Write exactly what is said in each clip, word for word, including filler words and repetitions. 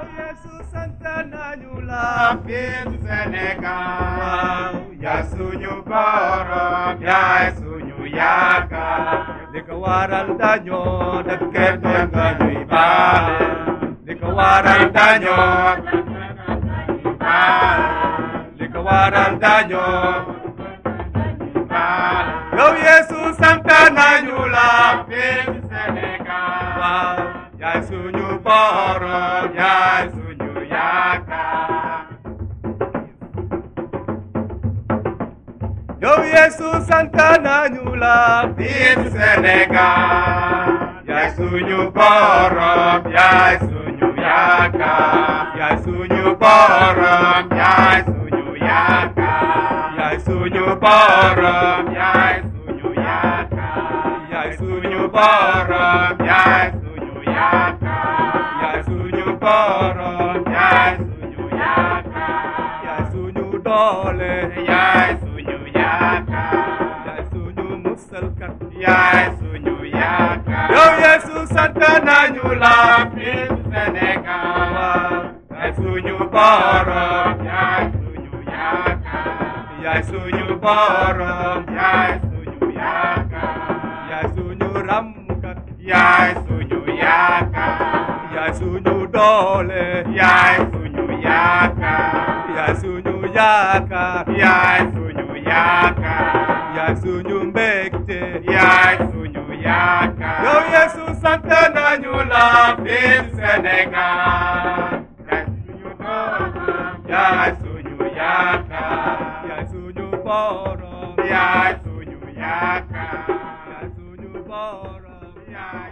Yesu Santana Nyula Pin Senegal Yasuñu borom yaay suñu yaakaar li ko waral dañoo dëkke doon nga ñuy baale li ko waral dañoo li ko waral dañoo yow Yesu Santana Nyula Pin Senegal waaw yaay suñu borom yaay suñu yaakaar yow Yesu Santana Nyula Pin Senegal yaay suñu borom yaay suñu yaakaar yaay suñu borom yaay suñu yaakaar yaay suñu borom yaay suñu yaakaar yaay suñu borom yaay suñu yaakaar yaay suñu borom yaay suñu yaakaar yaay suñu doole yaay suñu yaakaar yaay suñu musalkat yaay suñu yaakaar yow Yesu Santana Nyula Pin Senegal yaay suñu borom yaay suñu yaakaar yaay suñu borom yaay suñu yaakaar yaay suñu ramkat yaay suñu yaakaar yaay suñu doole yaay suñu yaakaar yaay suñu yaakaar yaay suñu yaakaar yaay suñu mbégte yaay suñu yaakaar yow Yesu Santana Nyula Pin Senegal yaay suñu borom yaay suñu yaakaar yaay suñu borom yaay suñu yaakaar yaay suñu borom yaay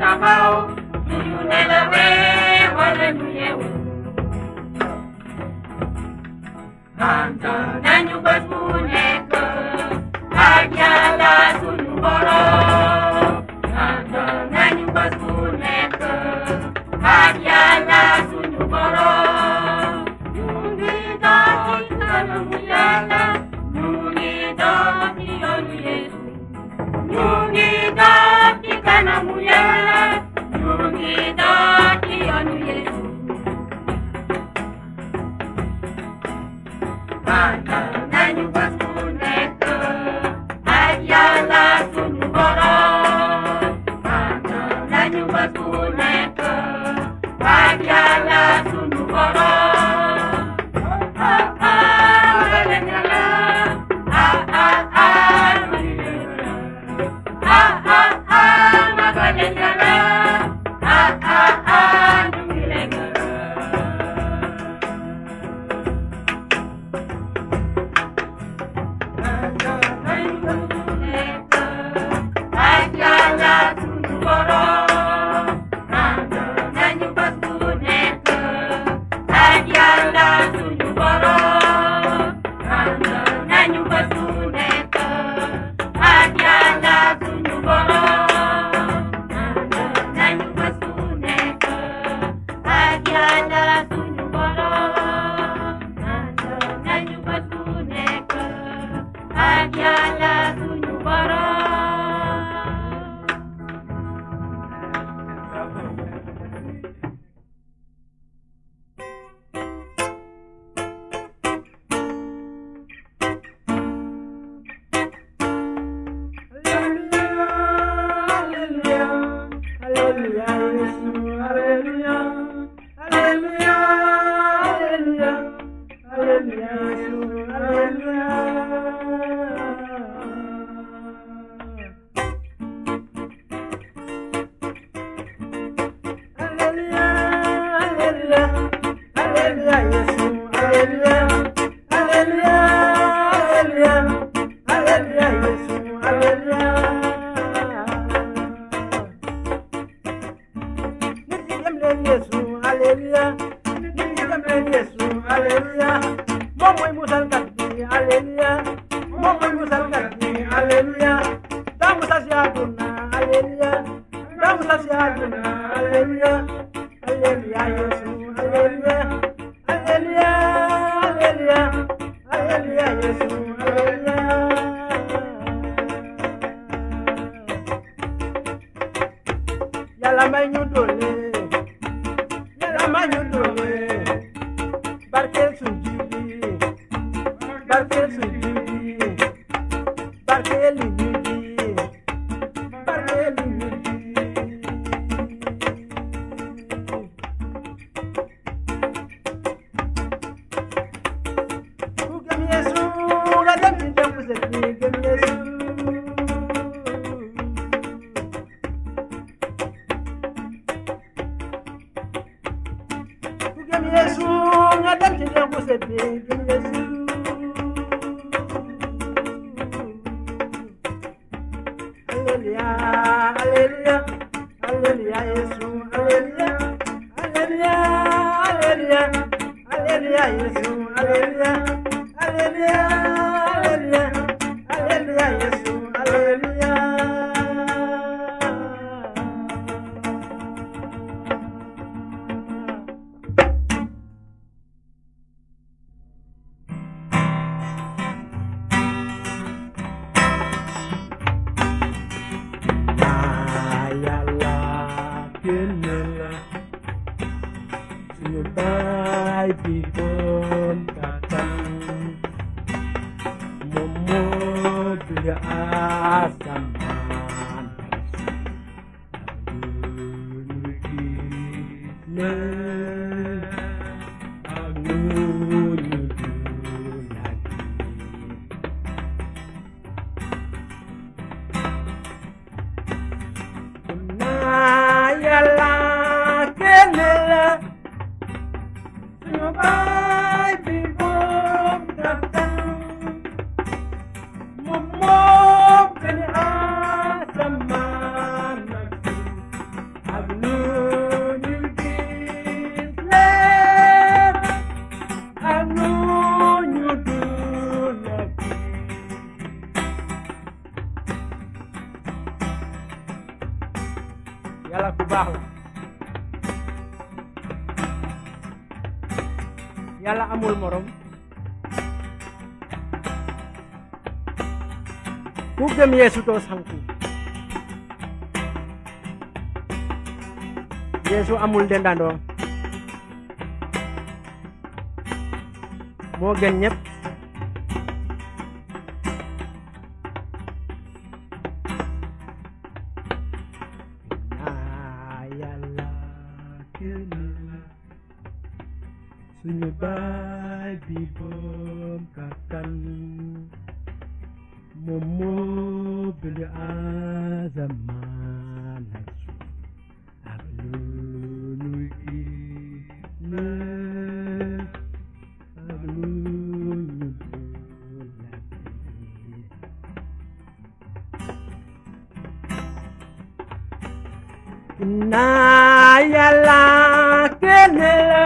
taxaw suñu nelawee wala ñu yeewu ànd nañu bés bu nekk ak Yàlla suñu borom ànd nañu bés bu nekk ak Yàlla suñu borom ñu ngi dox ci kanamu Yàlla ñu ngi dox ci yoonu Yeesu ñu ngi dox ci kanamu Yàlla ñu ngi dox ci yoonu Yeesu ànd nañu bés bu nekk ak Yàlla suñu borom ànd nañu bés bu nekk ak Yàlla suñu borom ah ah magal Yàlla ah ah ah ah ah ah magal Yàlla ah ah ah ñu ngi lay gërëm nañu bés bu nekk ak Yàlla suñu borom ànd nañu bés bu nekk ak Yàlla suñu borom ànd nañu bés bu nekk ak Yàlla suñu borom ànd nañu bés bu nekk ak Yàlla suñu borom ànd nañu bés bu nekk ak Yàlla suñu borom Yàlla may ñu doole Yàlla may ñu doole barkeel suñu ji barkeel suñu ji barkeel ñu ji barkeel ñu ji ku gëm Yeesu nga dem ci jàmm sa ji gëm Yeesu Yesu nga dem ci jàmm sa ji gëm Yesu Alleluia Alleluia Alleluia Yesu Alleluia Alleluia Alleluia Alleluia Yesu Alleluia Alleluia Alleluia Alleluia Yesu Alleluia Bye, people. yàlla ku baax la yàlla amul morom ku gëm Yeesu doo sanku Yeesu amul dendandoo moo gën ñëpp naa yàlla kenn suñu baay bi boom kattan moom moo bind asamaan ak suuf ak lu nu gis ak lu nu dul la gis naa yàlla kenn la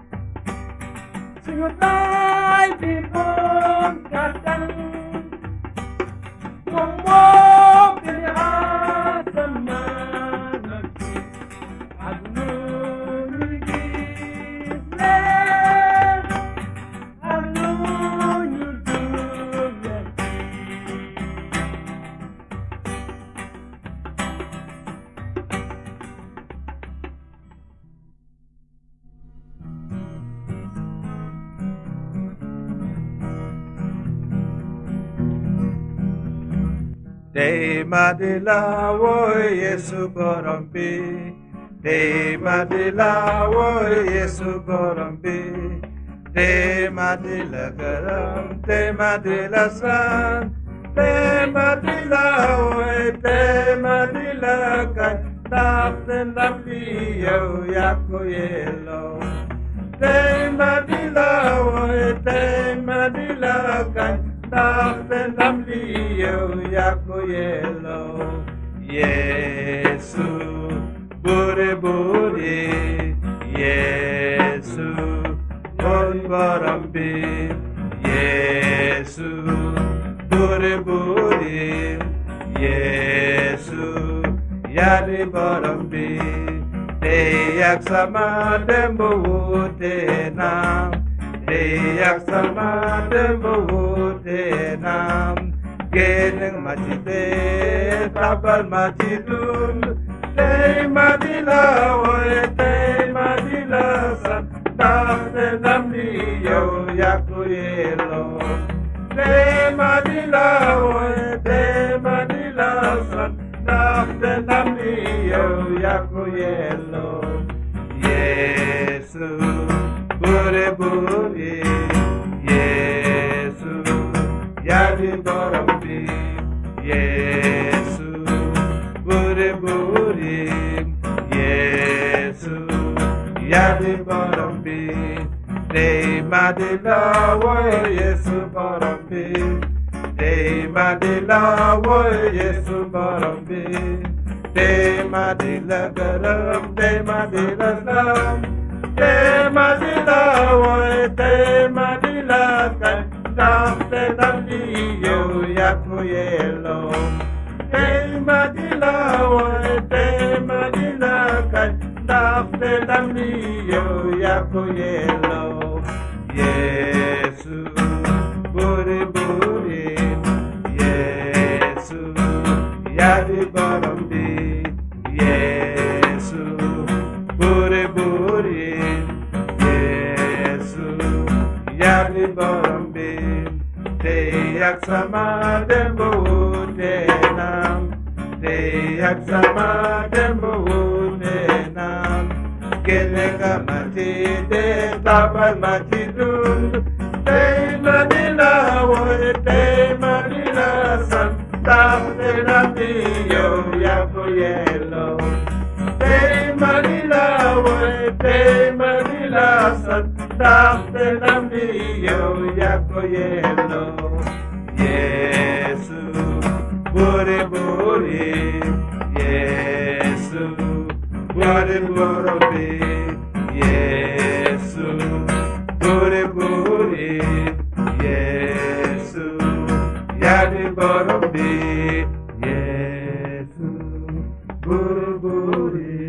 suñu baay bi boom kattan moom moo bind asamaan ak suuf ak lu nu gis ak lu nu dul la Day madila wo Yesu borombi, day madila wo Yesu borombi, day madila garam, day madila san, day madila wo, day madila kan, taften lambi yo yako yelo. Day madila wo, day madila kan. Taften lambi yo yako yelo Yesu bure bure Yesu bon barambi Yesu bure bure Yesu yadi barambi te yak sama dembo wote nam te yak sama dembo wote nam geneng matite tabal matidun te madila woe te madila san tafte namni yo yako yelo te madila woe te madila san tafte namni yo yako yelo Yesu bure bure Yesu yadi barambi Yesu bure bure Yesu yadi barambi te madila wo Yesu barambi te madila wo Yesu barambi te madila garam te madila sam te madila wo te madila kan tafte namni yo yako yelo te madila wo te madila kan tafte namni yo yako yelo Yesu bure bure Yesu yadi barambi Yesu bure bure Yesu yadi barambi te yak sama dembo wote nam te yak sama dembo wote nam genenga matide tabal matidun te madila wo te madila san tafte namni yo yako yelo te madila wo te madila san tafte namni yo yako yelo Yesu bure bure Yesu bure bure Yesu bure bure Yesu yadi bure Yesu bure bure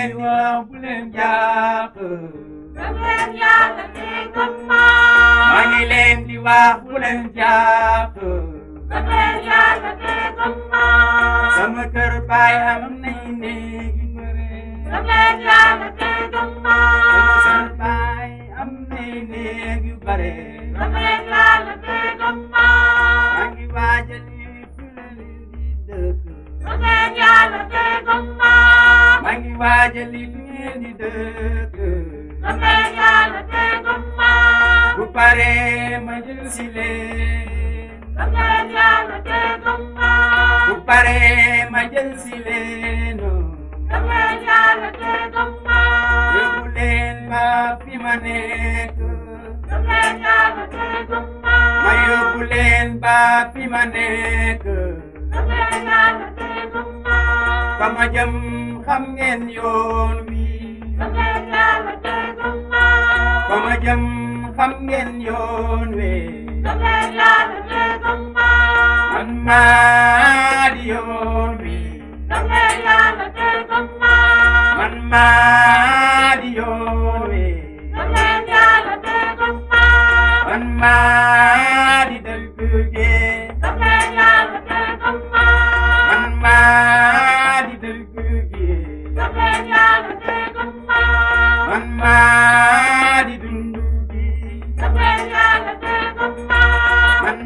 leen wax bu leen jàpp gëm leen yàlla te gëm ma maa ngi leen di wax bu leen jàpp gëm leen yàlla te gëm ma sama kër baay am nañ néegi bëre gëm leen yàlla te gëm ma sama baay am nañ néegi bëre gëm leen yàlla te gëm ma maa ngi waajal yi fi leen di dëkk gëm leen yàlla te gëm ma maa ngi waajal yi fi ngeen di dëkk gëm leen yàlla te gëm ma bu paree ma jël si leen gëm leen yàlla te gëm ma bu paree ma jël si leen gëm leen yàlla te gëm ma yóbbu leen ba fi ma nekk gëm leen yàlla te gëm ma ma yóbbu leen ba fi ma nekk gëm leen yàlla te gëm ma fa ma jëm xam ngeen yoon wi gëm leen yàlla te gëm ma fa ma jëm xam ngeen yoon wi gëm leen yàlla te gëm ma man maa di yoon wi gëm leen yàlla te gëm ma man maa di yoon wi gëm leen yàlla te gëm ma man maa di dëgg gi gëm leen yàlla te gëm ma man maa di dëgg gi gëm leen yàlla te gëm ma man maa di dundu gi gëm leen yàlla te gëm ma man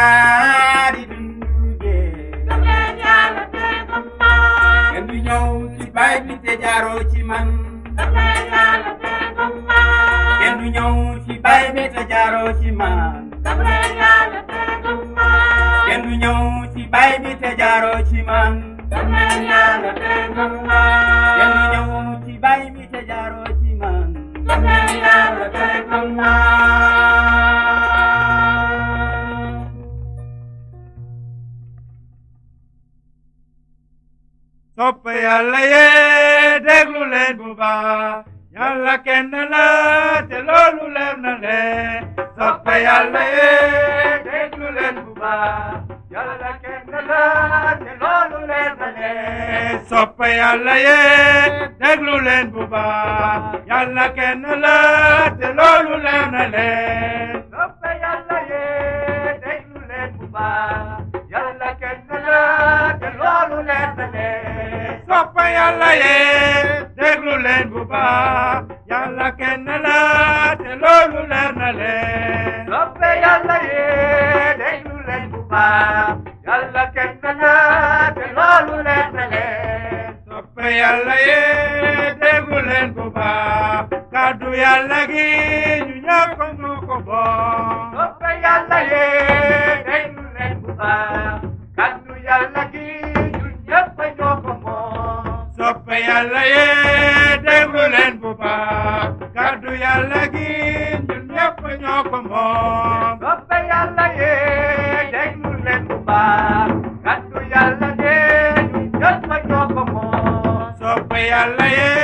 maa di dundu gi gëm leen yàlla te gëm ma kenn du ñëw ci baay bi te jaaroo ci man gëm leen yàlla te gëm ma kenn du ñëw ci baay bi te jaaroo ci man gëm leen yàlla te gëm ma kenn du ñëw ci baay bi te jaaroo ci man gëm leen yàlla te gëm ma kenn du ñëw ci baay bi te jaaroo ci man gëm leen yàlla te gëm ma sopp yàlla yee déglu leen bu baax yàlla kenn la te loolu leer na leen sopp yàlla yee déglu leen bu baax yàlla kenn la te loolu leer na leen sopp yàlla yee déglu leen bu baax yàlla kenn la te loolu leer na leen sopp yàlla yee déglu leen bu baax yàlla kenn la te loolu leer na leen sopp yàlla yee déglu leen bu baax yàlla kenn la te loolu leer na leen sopp yàlla yee déglu leen bu baax yàlla kenn la te loolu leer na leen sopp yàlla yee déglu leen bu baax kàddu yàlla gi ñu ñëpp ñu ko bokk sopp yàlla yee déglu leen bu baax kàddu yàlla gi ñu ñëpp ñoo ko moom sopp yàlla yee déglu leen bu baax kàddu yàlla gi ñun ñëpp ñoo ko moom sopp yàlla yee déglu leen bu baax kàddu yàlla gi ñun ñëpp ñoo ko moom sopp yàlla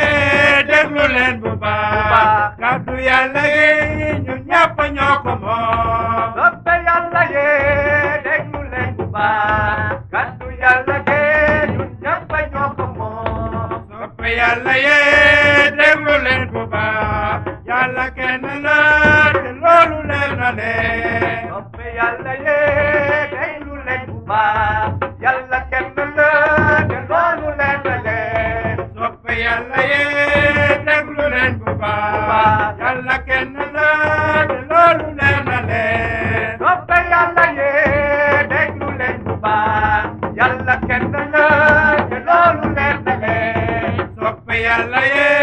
yee déglu leen bu baax kàddu yàlla gi ñun ñëpp ñoo ko moom sopp yàlla yee déglu leen bu baax kàddu yàlla gi ñun ñëpp ñoo ko moom sopp yàlla yee déglu leen bu baax yàlla kenn la te loolu leer na leen sopp yàlla yee déglu leen bu baax yàlla kenn la te loolu leer na leen sopp yàlla yee déglu leen bu baax yàlla kenn la te loolu leer na leen sopp yàlla yee déglu leen bu baax yàlla kenn la te loolu leer na leen sopp yàlla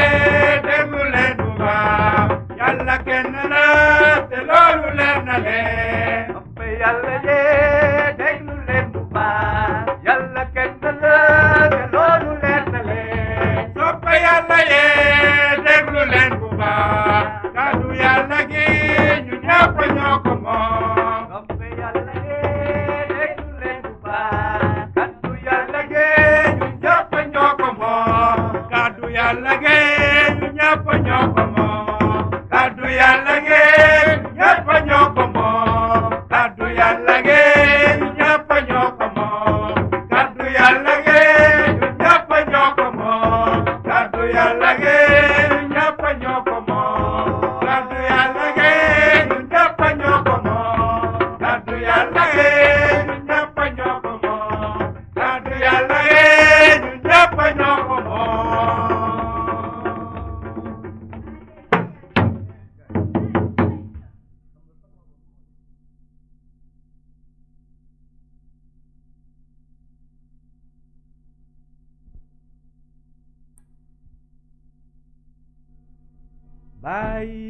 yee déglu leen bu baax yàlla kenn la te loolu leer na leen sopp yàlla yee déglu leen bu baax yàlla kenn la te loolu leer na leen sopp yàlla yee déglu leen bu baax kàddu yàlla gi ñu ñëpp ñoo ko moom sopp yàlla yee déglu leen bu baax kàddu yàlla gi ñu ñëpp ñoo ko moom kàddu yàlla gi ñu ñëpp ñoo ko moom kàddu yàlla gi ñu ñëpp ñoo ko moom kàddu yàlla gi ñu ñëpp ñoo ko moom kàddu yàlla gi ñu ñëpp ñoo ko moom kàddu yàlla bàyyi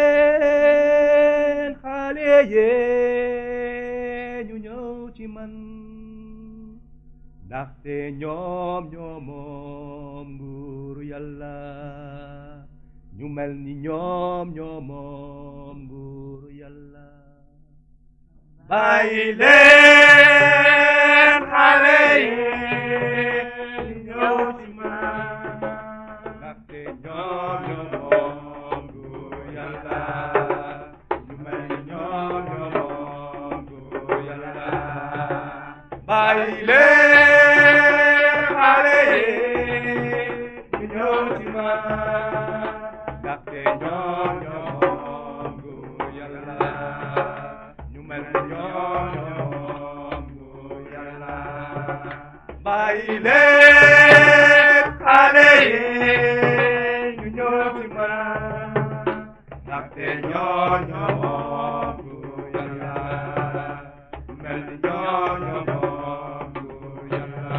leen xale yee ñu ñëw ci man ndaxte ñoom ñoo moom nguuru yàlla ñu mel ni ñoom ñoo moom nguuru yàlla bàyyi leen xale yee ñu ñëw ci man ndaxte ñoom ñoo moom nguuru yàlla ñu mel ni ñoom ñoo moom nguuru yàlla bàyyi leen xale yee ñu ñëw ci man ndaxte ñoom ñoo moom nguuru yàlla ñu mel ni ñoom ñoo moom nguuru yàlla bàyyi leen xale yee ñu ñëw ci man ndaxte ñoom ñoo moom nguuru yàlla ñu mel ni ñoom ñoo moom nguuru yàlla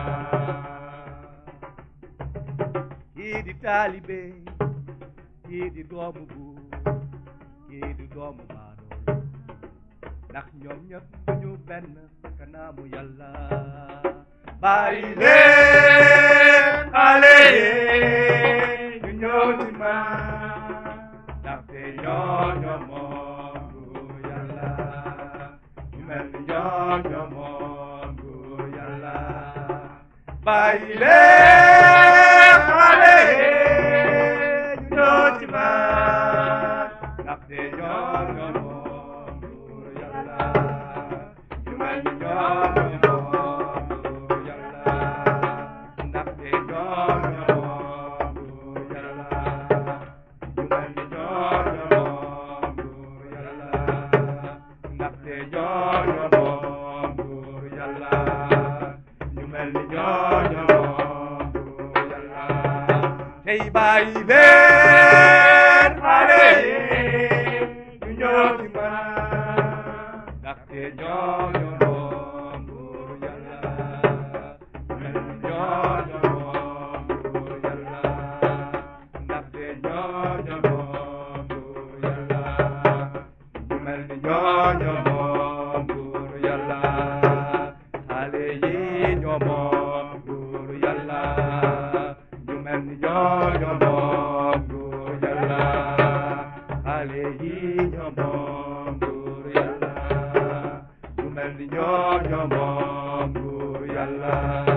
kii di taalibe kii di doomu buur kii di doomu baadoolo ndax ñoom ñëpp duñu benn kanamu yàlla bàyyi leen xale yee ñu ñëw ci man ndaxte ñoom ñoo moom nguuru yàlla ñu mel ni ñoom ñoo moom nguuru yàlla bàyyi leen xale yee ñu ñëw ci man ndaxte ñoom ñoo moom nguuru yàlla ñu mel ni ñoom ñoo moom nguuru yàlla ndaxte ñoom ñoo moom nguuru yàlla ñu mel ni ñoom ñoo moom nguuru yàlla ndaxte ñoom ñoo moom nguuru yàlla ñu mel ni ñoom ñoo moom nguuru yàlla tey bàyyi leen xale yee ñu ñëw ci man ndaxte ñoom ñoo moom nguuru yàlla mel ni ñoom ñoo moom nguuru yàlla ndaxte ñoom ñoo moom nguuru yàlla ñu mel ni ñoom ñoo moom nguuru yàlla xale yi ñoo moom nguuru yàlla ñu mel ni ñoom ñoo moom nguuru yàlla xale yi ñoo moom nguuru yàlla ñu mel ni ñoom ñoo moom nguuru yàlla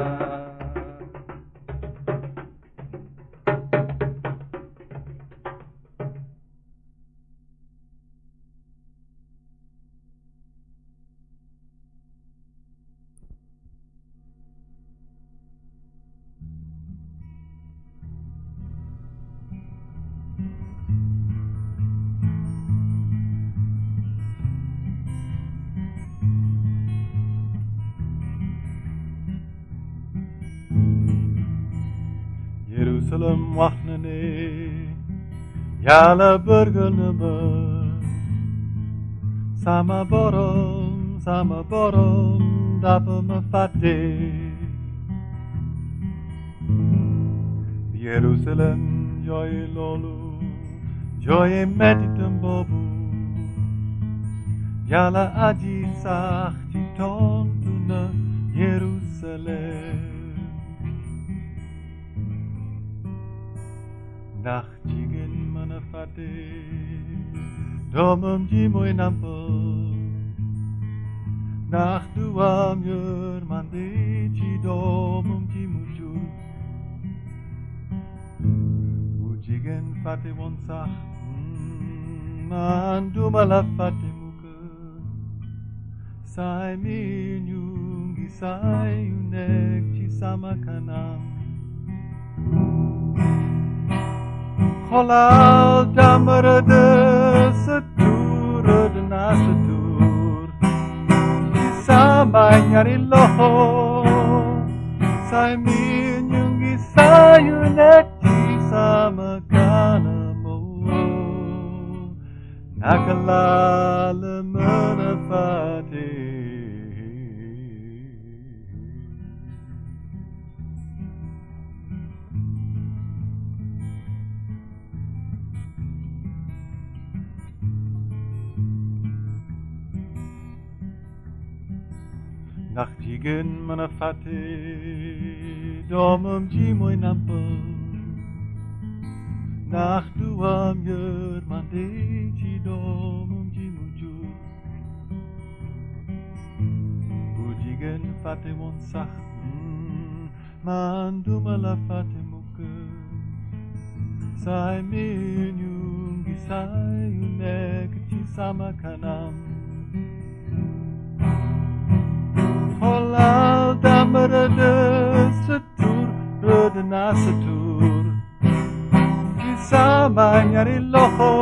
Jerusalem wax na ne Yàlla bëggal na ma sama borom sama borom dafa ma fàtte Jerusalem jooy loolu jooy mettitam boobu Yàlla aji sax ci tontu na Jerusalem ndax jigéen mën a fàtte doomam ji mooy nampal ndax du am yërmande ci doomam ji mu jur bu jigéen fàtte woon sax man duma la fàtte mukk saay mi ñu ngi saay yu nekk ci sama kanam xoolal jàmbara de sa tur dinaa sa tur ci sama ñaari loxo saay mi ñu ngi saay yu nekk ci sama kanam naka laa la mën a fàtte Nachtigen mana fate domum ji moy nampel nach duam yer mande ji domum ji muju Bujigen fate mon sach man duma la fate muke sai min yungi sai unek ti sama kanam Holal damere de setur, rode na setur. Kisama nyari loho